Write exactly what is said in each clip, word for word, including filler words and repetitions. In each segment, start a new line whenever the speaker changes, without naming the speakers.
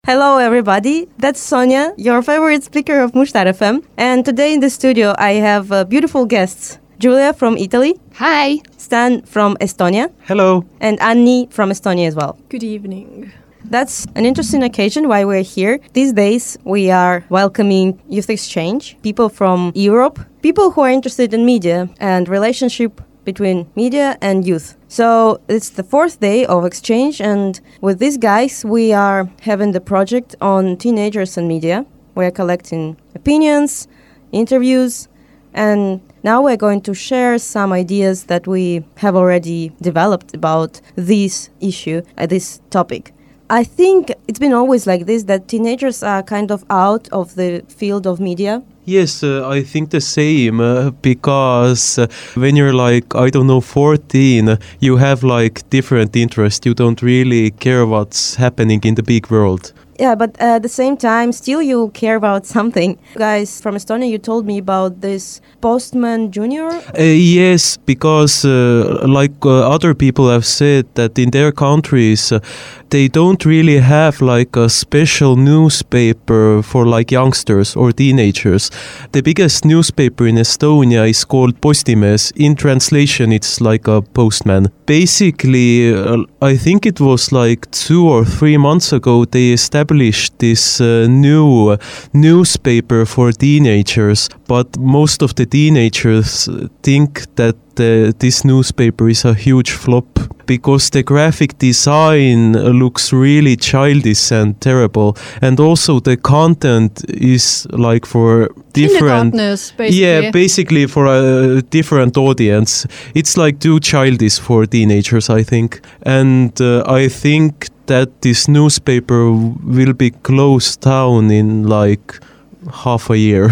Hello, everybody. That's Sonia, your favorite speaker of Mushtar F M. And today in the studio, I have uh, beautiful guests. Julia from Italy.
Hi.
Stan from Estonia.
Hello.
And Anni from Estonia as well.
Good evening.
That's an interesting occasion why we're here. These days, we are welcoming youth exchange, people from Europe, people who are interested in media and relationship between media and youth. So it's the fourth day of exchange, and with these guys, we are having the project on teenagers and media. We are collecting opinions, interviews, and now we're going to share some ideas that we have already developed about this issue, uh, this topic. I think it's been always like this, that teenagers are kind of out of the field of media.
Yes, uh, I think the same, uh, because uh, when you're like, I don't know, fourteen, uh, you have like different interests. You don't really care what's happening in the big world.
Yeah, but at the same time, still you care about something. Guys from Estonia, you told me about this Postman Junior.
Uh, yes, because uh, like uh, other people have said that in their countries, uh, they don't really have like a special newspaper for like youngsters or teenagers. The biggest newspaper in Estonia is called Postimees. In translation, it's like a postman. Basically, uh, I think it was like two or three months ago, they established this uh, new uh, newspaper for teenagers, but most of the teenagers think that uh, this newspaper is a huge flop because the graphic design looks really childish and terrible, and also the content is like for different
basically.
Yeah, basically for a different audience. It's like too childish for teenagers, I think. And uh, I think that this newspaper will be closed down in like half a year.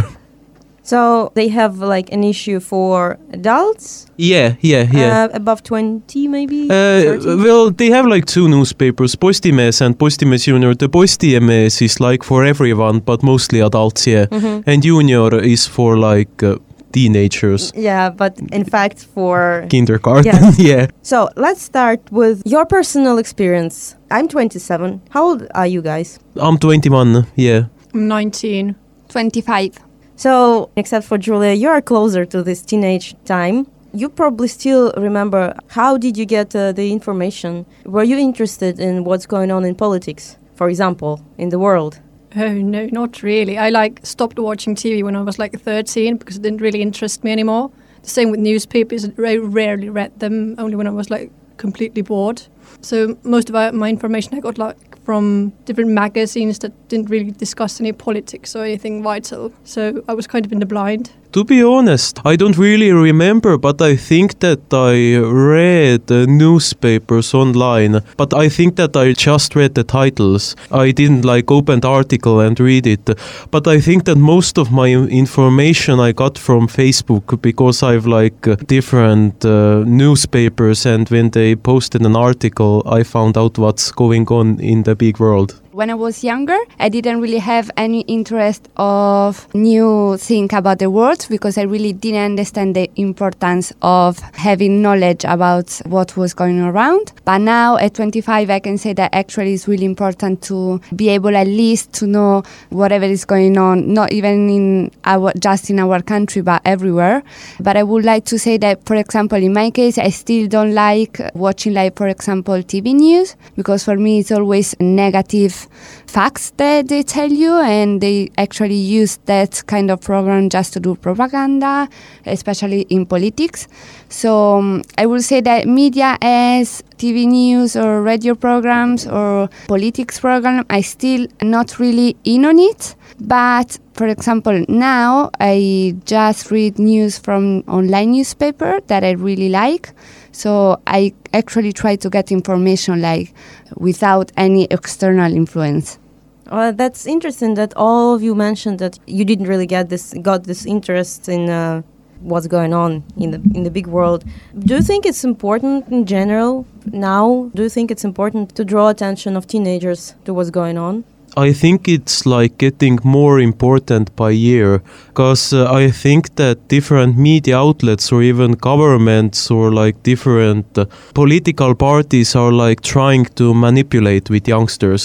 So they have like an issue for adults?
Yeah, yeah, yeah.
Uh, above twenty maybe?
Uh, well, they have like two newspapers, Postimees and Postimees Junior. The Postimees is like for everyone, but mostly adults, yeah. Mm-hmm. And Junior is for like uh, teenagers.
Yeah, but in fact for...
kindergarten,
yes.
Yeah.
So let's start with your personal experience. I'm twenty-seven. How old are you guys?
I'm twenty-one, yeah.
I'm nineteen.
twenty-five.
So, except for Julia, you are closer to this teenage time. You probably still remember, how did you get uh, the information? Were you interested in what's going on in politics, for example, in the world?
Oh, no, not really. I like stopped watching T V when I was like thirteen because it didn't really interest me anymore. The same with newspapers. I rarely read them, only when I was like completely bored. So most of my information I got like from different magazines that didn't really discuss any politics or anything vital. So I was kind of in the blind.
To be honest, I don't really remember, but I think that I read uh, newspapers online. But I think that I just read the titles. I didn't like open the article and read it. But I think that most of my information I got from Facebook because I've like uh, different uh, newspapers, and when they posted an article, I found out what's going on in the big world.
When I was younger, I didn't really have any interest of new thing about the world because I really didn't understand the importance of having knowledge about what was going around. But now at twenty-five, I can say that actually it's really important to be able at least to know whatever is going on, not even in our just in our country, but everywhere. But I would like to say that, for example, in my case, I still don't like watching, like, for example, T V news, because for me it's always negative facts that they tell you, and they actually use that kind of program just to do propaganda, especially in politics. So um, I will say that media as T V news or radio programs or politics program, I still not really in on it. But for example, now I just read news from online newspaper that I really like. So I actually try to get information like without any external influence.
Well, that's interesting that all of you mentioned that you didn't really get this, got this interest in uh, what's going on in the in the big world. Do you think it's important in general now? Do you think it's important to draw attention of teenagers to what's going on?
I think it's like getting more important by year, because uh, I think that different media outlets or even governments or like different uh, political parties are like trying to manipulate with youngsters.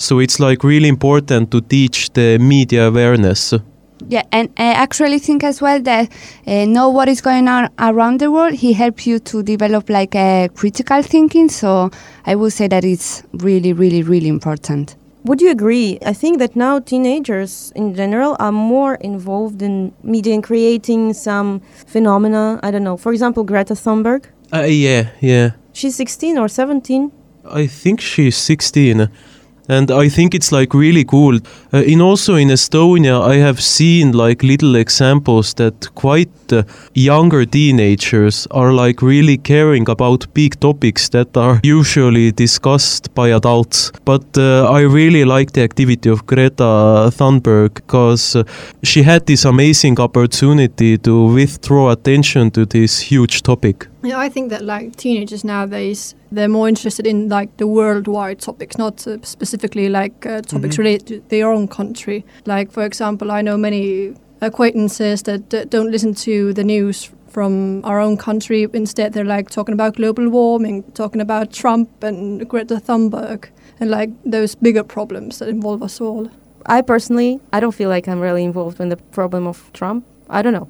So it's like really important to teach the media awareness.
Yeah, and I actually think as well that uh, know what is going on around the world. He helps you to develop like a critical thinking. So I would say that it's really, really, really important.
Would you agree? I think that now teenagers in general are more involved in media and creating some phenomena. I don't know. For example, Greta Thunberg.
Uh, yeah, yeah.
She's sixteen or seventeen.
I think she's sixteen. And I think it's like really cool. Uh, in also in Estonia, I have seen like little examples that quite uh, younger teenagers are like really caring about big topics that are usually discussed by adults. But uh, I really like the activity of Greta Thunberg because uh, she had this amazing opportunity to withdraw attention to this huge topic.
Yeah, I think that like teenagers nowadays, they're more interested in like the worldwide topics, not uh, specifically like uh, topics mm-hmm. related to their own country. Like, for example, I know many acquaintances that uh, don't listen to the news from our own country. Instead, they're like talking about global warming, talking about Trump and Greta Thunberg, and like those bigger problems that involve us all.
I personally, I don't feel like I'm really involved in the problem of Trump. I don't know.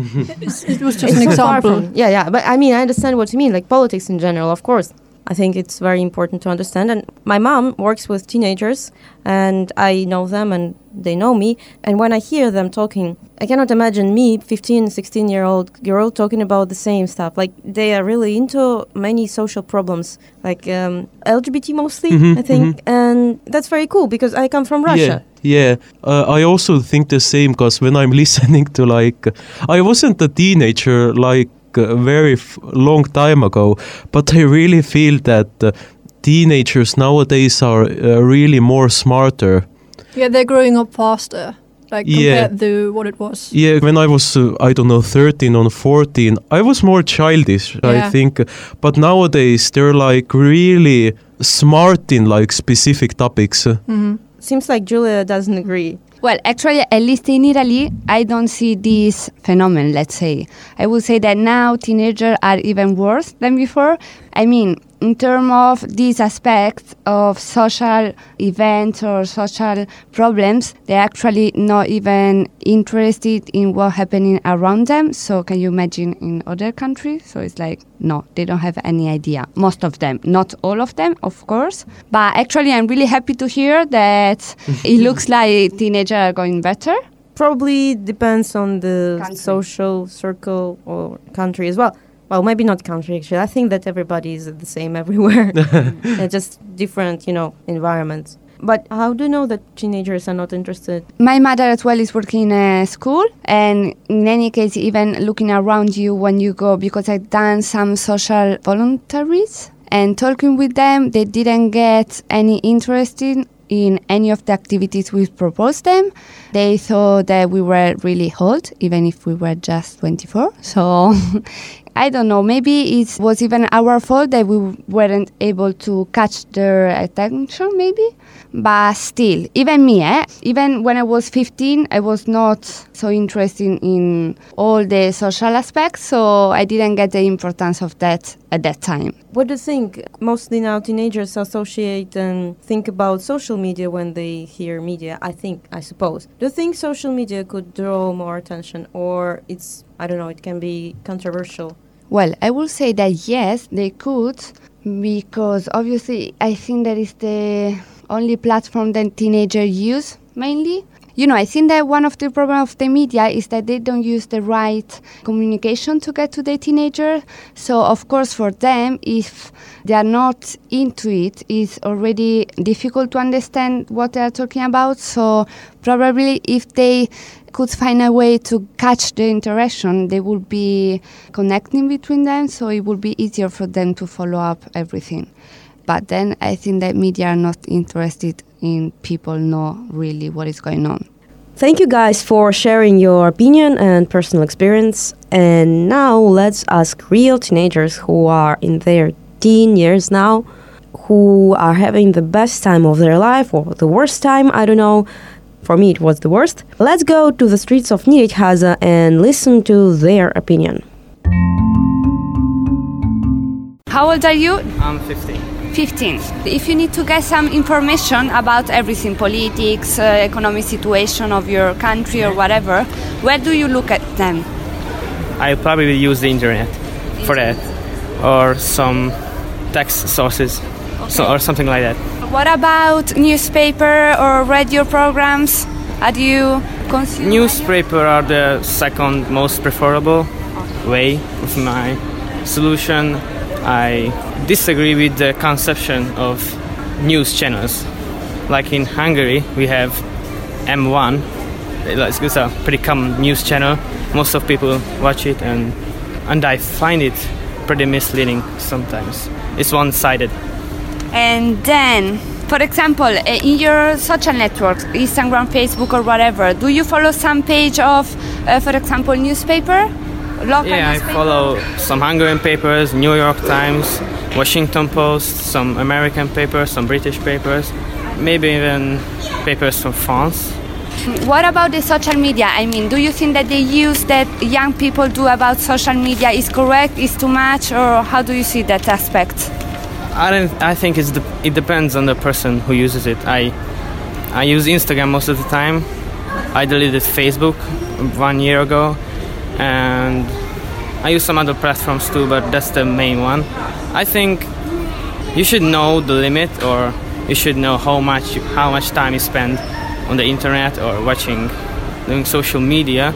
It was just an example.
From, yeah, yeah. But I mean, I understand what you mean, like politics in general, of course. I think it's very important to understand. And my mom works with teenagers, and I know them and they know me. And when I hear them talking, I cannot imagine me, fifteen, sixteen-year-old girl, talking about the same stuff. Like, they are really into many social problems, like um, L G B T mostly, mm-hmm, I think. Mm-hmm. And that's very cool, because I come from Russia.
Yeah. Yeah, uh, I also think the same, because when I'm listening to like, I wasn't a teenager like a very f- long time ago, but I really feel that uh, teenagers nowadays are uh, really more smarter.
Yeah, they're growing up faster, like
yeah.
compared to what it was.
Yeah, when I was, uh, I don't know, thirteen or fourteen, I was more childish, yeah. I think. But nowadays, they're like really smart in like specific topics.
Mm-hmm.
Seems like Julia doesn't agree.
Well, actually, at least in Italy, I don't see this phenomenon, let's say. I would say that now teenagers are even worse than before. I mean, in terms of these aspects of social events or social problems, they're actually not even interested in what's happening around them. So can you imagine in other countries? So it's like, no, they don't have any idea. Most of them, not all of them, of course. But actually, I'm really happy to hear that it looks like teenagers are going better.
Probably depends on the country. Social circle or country as well. Well, maybe not country, actually. I think that everybody is the same everywhere. They're just different, you know, environments. But how do you know that teenagers are not interested?
My mother as well is working in a school. And in any case, even looking around you when you go, because I've done some social voluntaries and talking with them, they didn't get any interest in in any of the activities we proposed them. They thought that we were really old, even if we were just twenty-four. So I don't know, maybe it was even our fault that we weren't able to catch their attention, maybe. But still, even me, eh? even when I was fifteen, I was not so interested in all the social aspects, so I didn't get the importance of that at that time.
What do you think? Mostly now teenagers associate and think about social media when they hear media, I think, I suppose. Do you think social media could draw more attention, or it's, I don't know, it can be controversial?
Well, I will say that yes, they could, because obviously I think that is the only platform that teenagers use mainly. You know, I think that one of the problems of the media is that they don't use the right communication to get to the teenager. So, of course, for them, if they are not into it, it's already difficult to understand what they are talking about. So, probably if they could find a way to catch the interaction, they would be connecting between them, so it would be easier for them to follow up everything. But then I think that media are not interested in people know really what is going on.
Thank you guys for sharing your opinion and personal experience. And now let's ask real teenagers who are in their teen years now, who are having the best time of their life or the worst time, I don't know. For me, it was the worst. Let's go to the streets of Nyíregyháza and listen to their opinion.
How old are you?
I'm fifteen.
fifteen. If you need to get some information about everything, politics, uh, economic situation of your country or whatever, where do you look at them?
I probably use the internet for that, or some text sources, okay. so, or something like that.
What about newspaper or radio programs? How do you consume?
Newspaper are the second most preferable way of my solution. I disagree with the conception of news channels. Like in Hungary, we have M one. It's a pretty common news channel. Most of people watch it, and and I find it pretty misleading sometimes. It's one-sided.
And then, for example, in your social networks, Instagram, Facebook, or whatever, do you follow some page of, uh, for example, newspaper? Local
yeah,
newspaper?
I follow some Hungarian papers, New York Times, Washington Post, some American papers, some British papers, maybe even papers from France.
What about the social media? I mean, do you think that the use that young people do about social media is correct, is too much, or how do you see that aspect?
I don't. I think it's the, it depends on the person who uses it. I I use Instagram most of the time. I deleted Facebook one year ago, and I use some other platforms too, but that's the main one. I think you should know the limit, or you should know how much how much time you spend on the internet or watching, doing social media,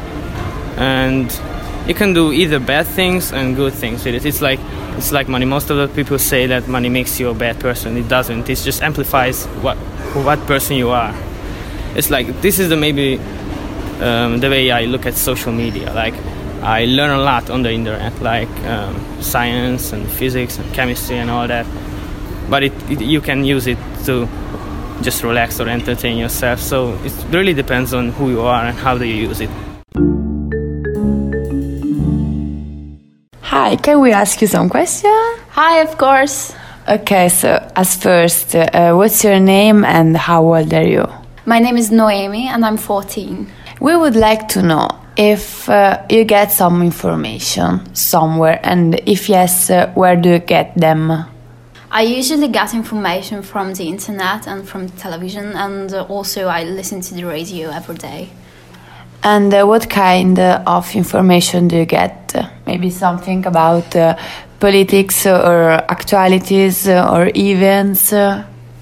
and you can do either bad things and good things with it. It's like it's like money. Most of the people say that money makes you a bad person. It doesn't. It just amplifies what what person you are. It's like this is the maybe um, the way I look at social media. Like I learn a lot on the internet, like um, science and physics and chemistry and all that. But it, it you can use it to just relax or entertain yourself. So it really depends on who you are and how do you use it.
Hi, can we ask you some questions?
Hi, of course.
Okay, so as first, uh, what's your name and how old are you?
My name is Noemi and I'm fourteen.
We would like to know if uh, you get some information somewhere, and if yes, uh, where do you get them?
I usually get information from the internet and from the television, and uh, also I listen to the radio every day.
And uh, what kind uh, of information do you get? Uh, maybe something about uh, politics or actualities uh, or events? Uh?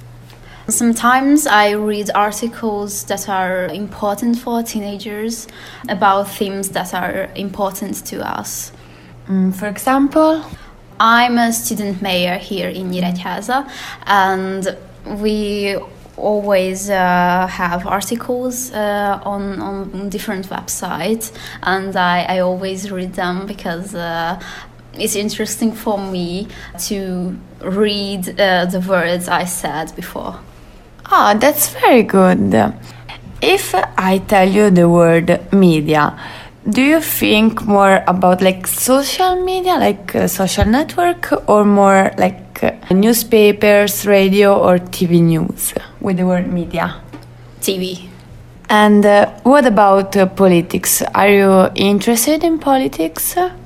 Sometimes I read articles that are important for teenagers about themes that are important to us.
Mm, for example?
I'm a student mayor here in Nyíregyháza, and we always uh, have articles uh, on, on different websites, and I, I always read them because uh, it's interesting for me to read uh, the words I said before.
Oh, that's very good. If I tell you the word media, do you think more about like social media, like a social network, or more like uh, newspapers, radio, or T V news with the word media?
T V.
And uh, what about uh, politics? Are you interested in politics?
Uh,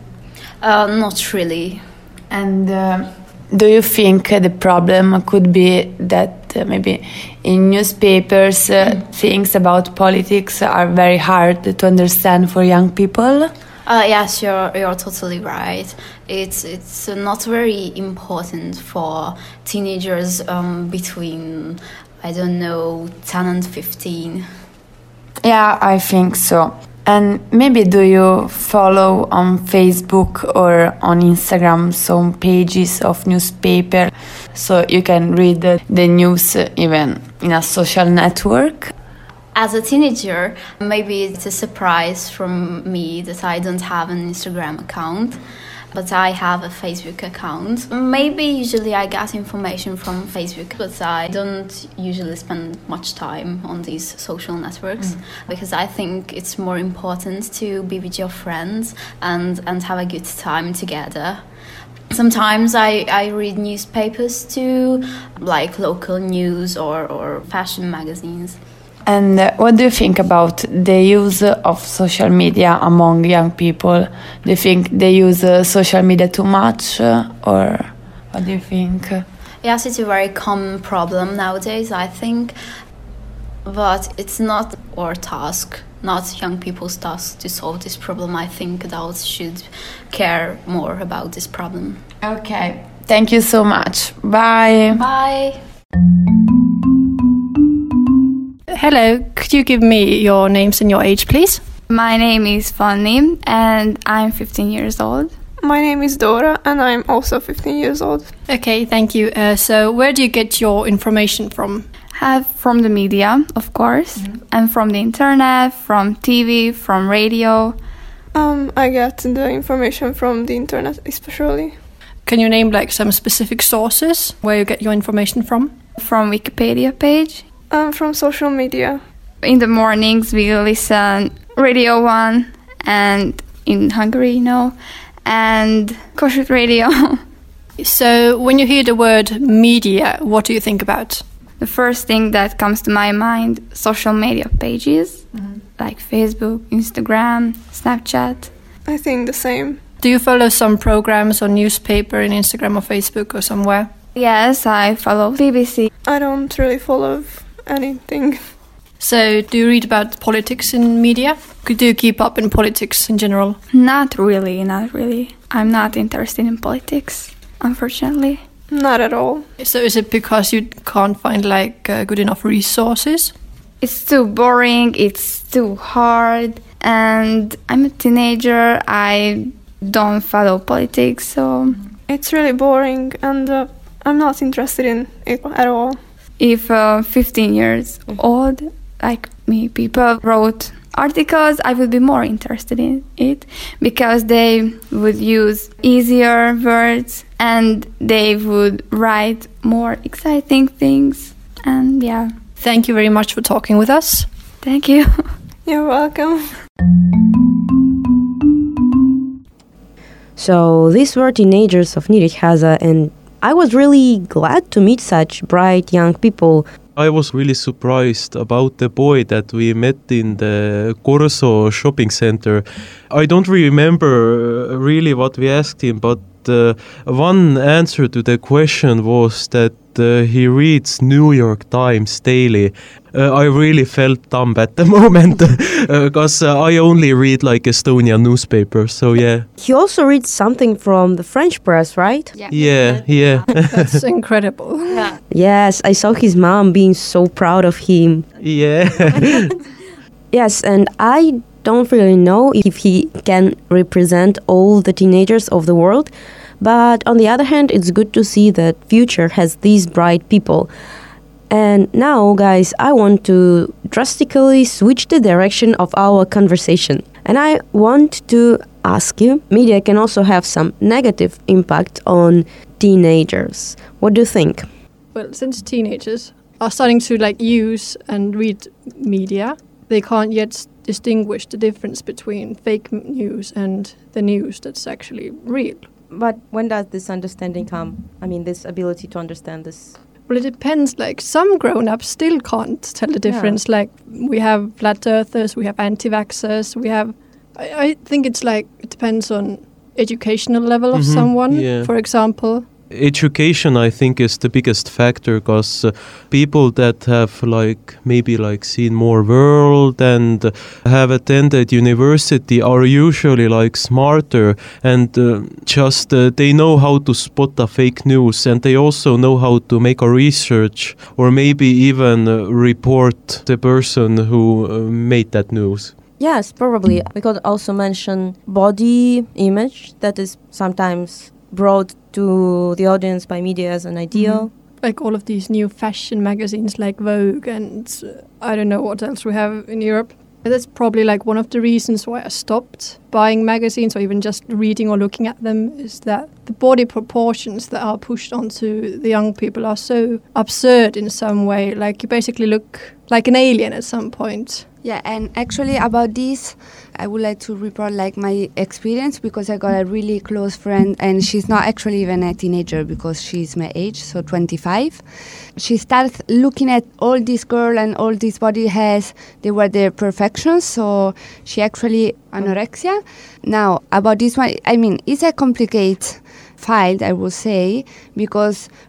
not really.
And uh, do you think uh, the problem could be that uh, maybe in newspapers uh, mm. things about politics are very hard to understand for young people?
Uh, yes, you're you're totally right. It's it's not very important for teenagers um, between, I don't know, ten and fifteen.
Yeah, I think so. And maybe do you follow on Facebook or on Instagram some pages of newspaper so you can read the, the news even in a social network?
As a teenager, maybe it's a surprise from me that I don't have an Instagram account, but I have a Facebook account. Maybe usually I get information from Facebook, but I don't usually spend much time on these social networks mm. because I think it's more important to be with your friends and, and have a good time together. Sometimes I, I read newspapers too, like local news or, or fashion magazines.
And uh, what do you think about the use of social media among young people? Do you think they use uh, social media too much, uh, or what do you think?
Yes, it's a very common problem nowadays, I think. But it's not our task, not young people's task to solve this problem. I think adults should care more about this problem.
Okay, thank you so much. Bye.
Bye.
Hello, could you give me your names and your age, please?
My name is Fanny and I'm fifteen years old.
My name is Dora and I'm also fifteen years old.
Okay, thank you. Uh, so where do you get your information from?
Have from the media, of course, mm-hmm. and from the internet, from T V, from radio.
Um, I get the information from the internet especially.
Can you name like some specific sources where you get your information from?
From Wikipedia page.
Um, from social media.
In the mornings we listen Radio One and in Hungary, you know, and Kossuth Radio.
So when you hear the word media, what do you think about?
The first thing that comes to my mind, social media pages, mm-hmm. like Facebook, Instagram, Snapchat.
I think the same.
Do you follow some programs on newspaper in Instagram or Facebook or somewhere?
Yes, I follow B B C.
I don't really follow anything.
So do you read about politics in media? Do you keep up in politics in general?
Not really, not really. I'm not interested in politics, unfortunately.
Not at all.
So is it because you can't find like uh, good enough resources?
It's too boring, it's too hard, and I'm a teenager, I don't follow politics, so...
It's really boring and uh, I'm not interested in it at all.
If uh, fifteen years old, like me, people wrote articles, I would be more interested in it because they would use easier words and they would write more exciting things, and yeah.
Thank you very much for talking with us.
Thank you.
You're welcome.
So these were teenagers of Nyíregyháza, and I was really glad to meet such bright young people.
I was really surprised about the boy that we met in the Corso shopping center. I don't remember really what we asked him, but uh, one answer to the question was that uh, he reads New York Times daily. Uh, I really felt dumb at the moment because uh, uh, I only read like Estonian newspapers, so yeah.
He also reads something from the French press, right?
Yeah, yeah. yeah.
That's incredible.
Yeah. Yes, I saw his mom being so proud of him.
Yeah.
Yes, and I don't really know if he can represent all the teenagers of the world, but on the other hand, it's good to see that future has these bright people. And now, guys, I want to drastically switch the direction of our conversation. And I want to ask you, media can also have some negative impact on teenagers. What do you think?
Well, since teenagers are starting to like use and read media, they can't yet distinguish the difference between fake news and the news that's actually real.
But when does this understanding come? I mean, this ability to understand this?
Well, it depends. Like some grown-ups still can't tell the difference. Yeah. Like we have flat earthers, we have anti-vaxxers, we have... I, I think it's like, it depends on educational level of mm-hmm. someone, yeah. for example.
Education, I think, is the biggest factor because uh, people that have like maybe like seen more world and uh, have attended university are usually like smarter and uh, just uh, they know how to spot the fake news, and they also know how to make a research or maybe even uh, report the person who uh, made that news.
Yes, probably. We could also mention body image that is sometimes brought to the audience by media as an ideal.
Mm-hmm. Like all of these new fashion magazines like Vogue and uh, I don't know what else we have in Europe. That's probably like one of the reasons why I stopped buying magazines or even just reading or looking at them, is that the body proportions that are pushed onto the young people are so absurd in some way. Like you basically look like an alien at some point.
Yeah, and actually about this, I would like to report like my experience because I got a really close friend and she's not actually even a teenager because she's my age, so twenty-five. She started looking at all this girl and all this body has, they were their perfections, so she actually anorexia. Now, about this one, I mean, it's a complicated file, I would say, because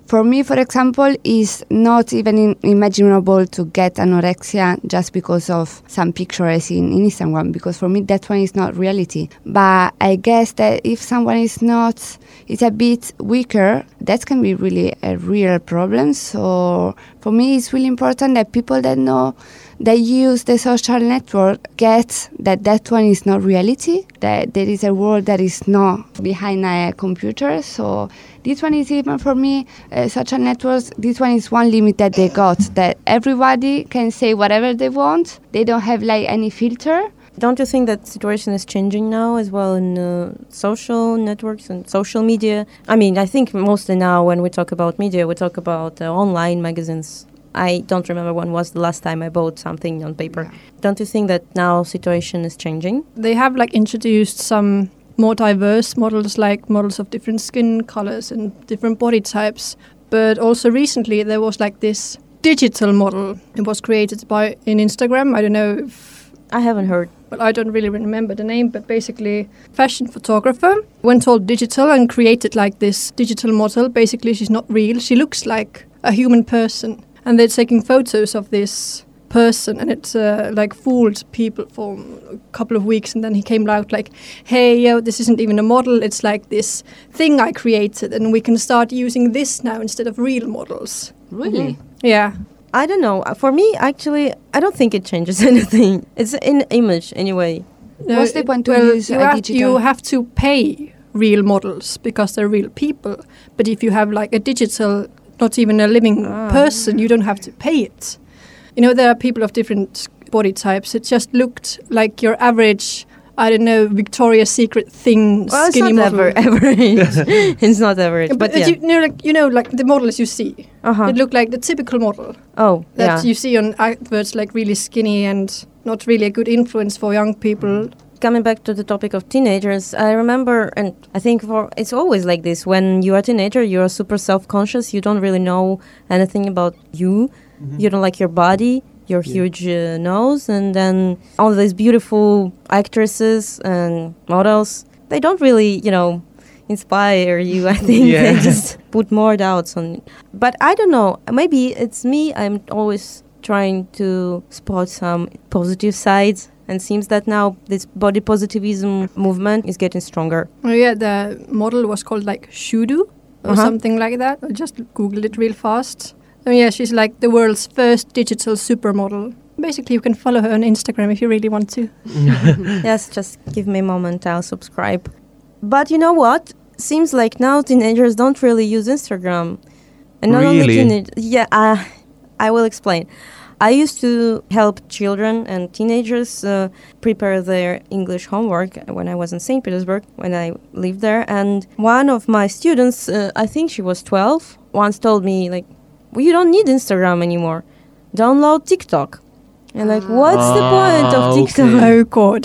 For me, for example, it's not even in- imaginable to get anorexia just because of some pictures in, in Instagram, because for me that one is not reality. But I guess that if someone is not, is a bit weaker, that can be really a real problem. So for me, it's really important that people that know, that use the social network, get that that one is not reality, that there is a world that is not behind a computer. So this one is even for me, uh, social networks, this one is one limit that they got, that everybody can say whatever they want. They don't have like any filter.
Don't you think that situation is changing now as well in uh, social networks and social media? I mean, I think mostly now when we talk about media, we talk about uh, online magazines. I don't remember when was the last time I bought something on paper. Yeah. Don't you think that now situation is changing?
They have like introduced some more diverse models, like models of different skin colors and different body types. But also recently there was like this digital model. It was created by in Instagram. I don't know if...
I haven't heard.
But I don't really remember the name. But basically fashion photographer went all digital and created like this digital model. Basically she's not real. She looks like a human person. And they're taking photos of this person, and it's uh, like fooled people for a couple of weeks. And then he came out like, hey, yo, this isn't even a model. It's like this thing I created, and we can start using this now instead of real models.
Really?
Mm-hmm. Yeah.
I don't know. For me, actually, I don't think it changes anything. It's an image anyway.
No,
What's the point to
well,
use
you
a
have,
digital?
you have to pay real models because they're real people. But if you have like a digital, not even a living
ah.
person, you don't have to pay it. You know, there are people of different body types. It just looked like your average, I don't know, Victoria's Secret thin
well,
skinny
it's not
model.
Ever, average. It's not average,
but,
but
but
yeah.
you, you know, like you know, like the models you see,
uh-huh.
it look like the typical model
Oh,
that
yeah.
you see on adverts, like really skinny and not really a good influence for young people.
Coming back to the topic of teenagers, I remember, and I think for it's always like this, when you're a teenager, you're super self-conscious, you don't really know anything about you, mm-hmm. you don't like your body, your yeah. huge uh, nose, and then all these beautiful actresses and models, they don't really, you know, inspire you. I think
yeah.
they just put more doubts on it. But I don't know, maybe it's me, I'm always trying to spot some positive sides. And seems that now this body positivism movement is getting stronger.
Oh yeah, the model was called like Shudu or
uh-huh.
something like that. I just googled it real fast. Oh yeah, she's like the world's first digital supermodel. Basically, you can follow her on Instagram if you really want to.
Yes, just give me a moment, I'll subscribe. But you know what? Seems like now teenagers don't really use Instagram. And not
really?
only teenagers. Yeah, uh, I will explain. I used to help children and teenagers uh, prepare their English homework when I was in Saint Petersburg, when I lived there. And one of my students, uh, I think she was twelve, once told me, like, well, you don't need Instagram anymore. Download TikTok. And like, what's
ah,
the point of TikTok?
Okay.
Oh, God.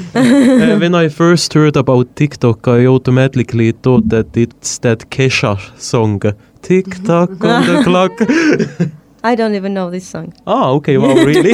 uh, when I first heard about TikTok, I automatically thought that it's that Kesha song, Tick-tock on the clock.
I don't even know this song.
Oh, okay, well, really?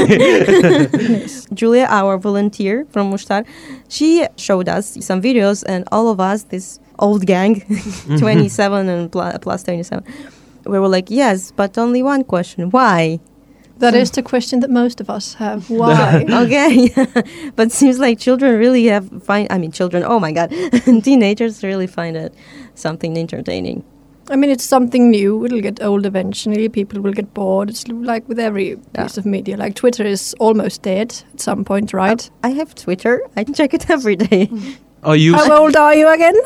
Yes. Julia, our volunteer from Mushtar, she showed us some videos, and all of us, this old gang, twenty-seven and pl- plus twenty-seven, we were like, yes, but only one question, why?
That so is the question that most of us have. Why?
Okay. But seems like children really have find, I mean, children, oh my God, teenagers really find it something entertaining.
I mean, it's something new. It'll get old eventually. People will get bored. It's like with every
yeah.
piece of media. Like Twitter is almost dead at some point, right?
I have Twitter. I check it every day.
I used
How old are you again?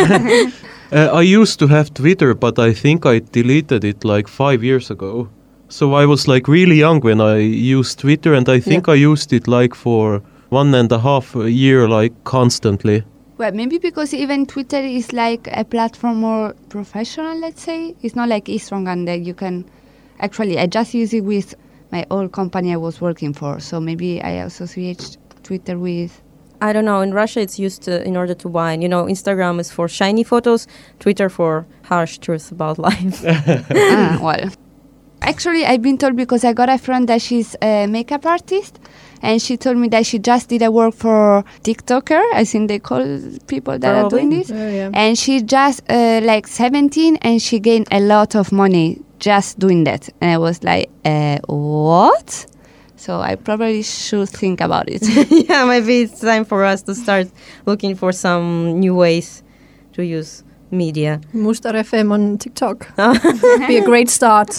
uh, I used to have Twitter, but I think I deleted it like five years ago. So I was like really young when I used Twitter, and I think
yeah.
I used it like for one and a half a year, like constantly.
Well, maybe because even Twitter is like a platform more professional, let's say. It's not like Instagram that you can... Actually, I just use it with my old company I was working for. So maybe I associate Twitter with...
I don't know. In Russia, it's used to, in order to whine. You know, Instagram is for shiny photos, Twitter for harsh truth about life.
ah, well... Actually, I've been told because I got a friend that she's a makeup artist, and she told me that she just did a work for TikToker. I think they call people that
Probably.
are doing this.
Oh, yeah.
And she just uh, like seventeen, and she gained a lot of money just doing that. And I was like, uh, what? So I probably should think about it.
Yeah, maybe it's time for us to start looking for some new ways to use media.
Mustar F M on TikTok. Be a great start.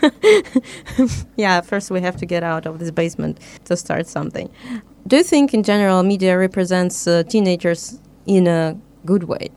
Yeah, first we have to get out of this basement to start something. Do you think in general media represents uh, teenagers in a good way?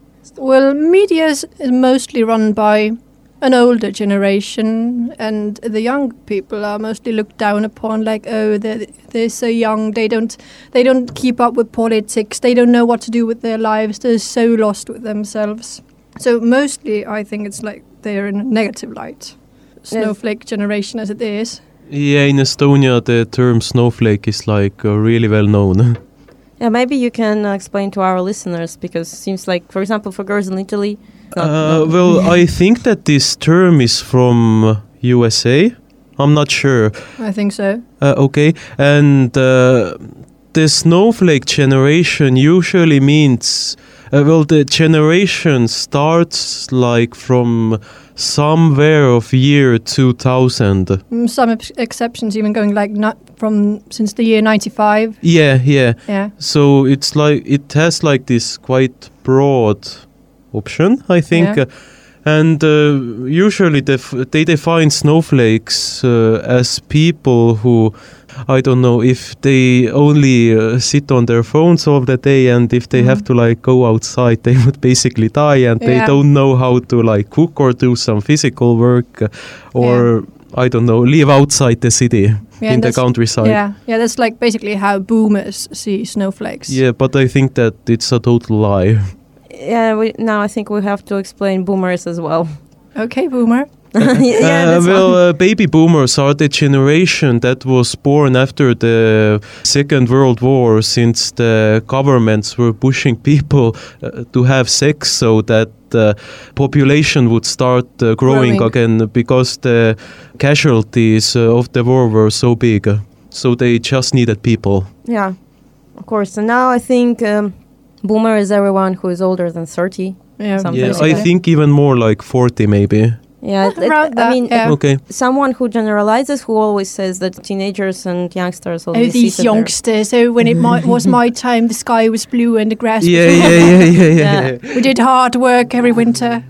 Well, media is mostly run by an older generation, and the young people are mostly looked down upon. Like, oh, they're they're so young. They don't they don't keep up with politics. They don't know what to do with their lives. They're so lost with themselves. So mostly, I think it's like they're in a negative light. Snowflake generation, as it is.
Yeah, in Estonia, the term snowflake is like uh, really well known.
Yeah, maybe you can uh, explain to our listeners, because it seems like, for example, for girls in Italy. Not,
Uh,
not
well, I think that this term is from U S A. I'm not sure.
I think so.
Uh, okay, and uh, the snowflake generation usually means, uh, well, the generation starts like from somewhere of year two thousand.
Mm, Some ex- exceptions even going like not from since the year ninety-five.
Yeah, yeah.
Yeah.
So it's like it has like this quite broad option, I think.
Yeah.
Uh, and uh, usually def- they define snowflakes uh, as people who, I don't know, if they only uh, sit on their phones all the day, and if they
Mhm.
have to like go outside, they would basically die, and they
Yeah.
don't know how to like cook or do some physical work, uh, or I don't know, live outside the city
Yeah,
in
and
the
that's-
countryside.
Yeah, yeah, that's like basically how boomers see snowflakes.
Yeah, but I think that it's a total lie.
Yeah, we, now I think we have to explain boomers as well.
Okay, boomer.
Yeah,
uh,
that's
well,
one.
uh, baby boomers are the generation that was born after the Second World War, since the governments were pushing people uh, to have sex so that the population would start uh, growing,
Growing.
again, because the casualties uh, of the war were so big. So they just needed people.
Yeah, of course. And now I think um, boomer is everyone who is older than thirty.
Yeah,
Something
Yeah,
like
I
that.
think even more like forty maybe.
Yeah, it- it-
Around
I
that,
mean,
yeah.
Okay.
someone who generalizes, who always says that teenagers and youngsters
Oh,
always
these
sit there.
youngsters. Oh, when it mi- was my time, the sky was blue and the grass
Yeah,
was
yeah, yeah, yeah, yeah.
Yeah.
yeah.
We did hard work every winter.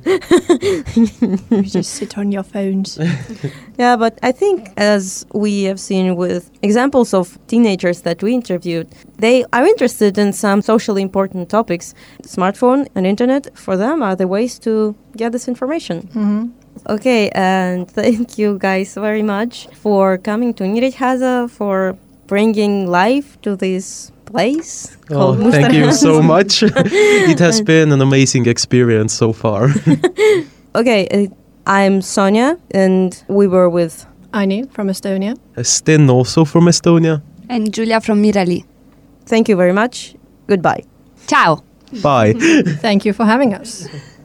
You just sit on your phones.
Yeah, but I think, as we have seen with examples of teenagers that we interviewed, they are interested in some socially important topics. Smartphone and internet, for them, are the ways to get this information.
hmm
Okay, and thank you guys very much for coming to Nyíregyháza, for bringing life to this place.
Oh,
called
thank you
Mustarháza.
so much. It has been an amazing experience so far.
Okay, uh, I'm Sonia, and we were with
Aini from Estonia.
Sten also from Estonia.
And Julia from Mirali.
Thank you very much. Goodbye.
Ciao.
Bye.
Thank you for having us.